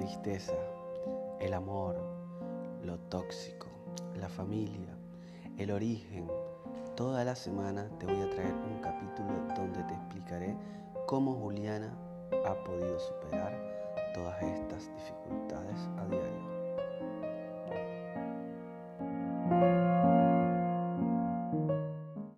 tristeza, el amor, lo tóxico, la familia, el origen. Toda la semana te voy a traer un capítulo donde te explicaré cómo Juliana ha podido superar todas estas dificultades a diario.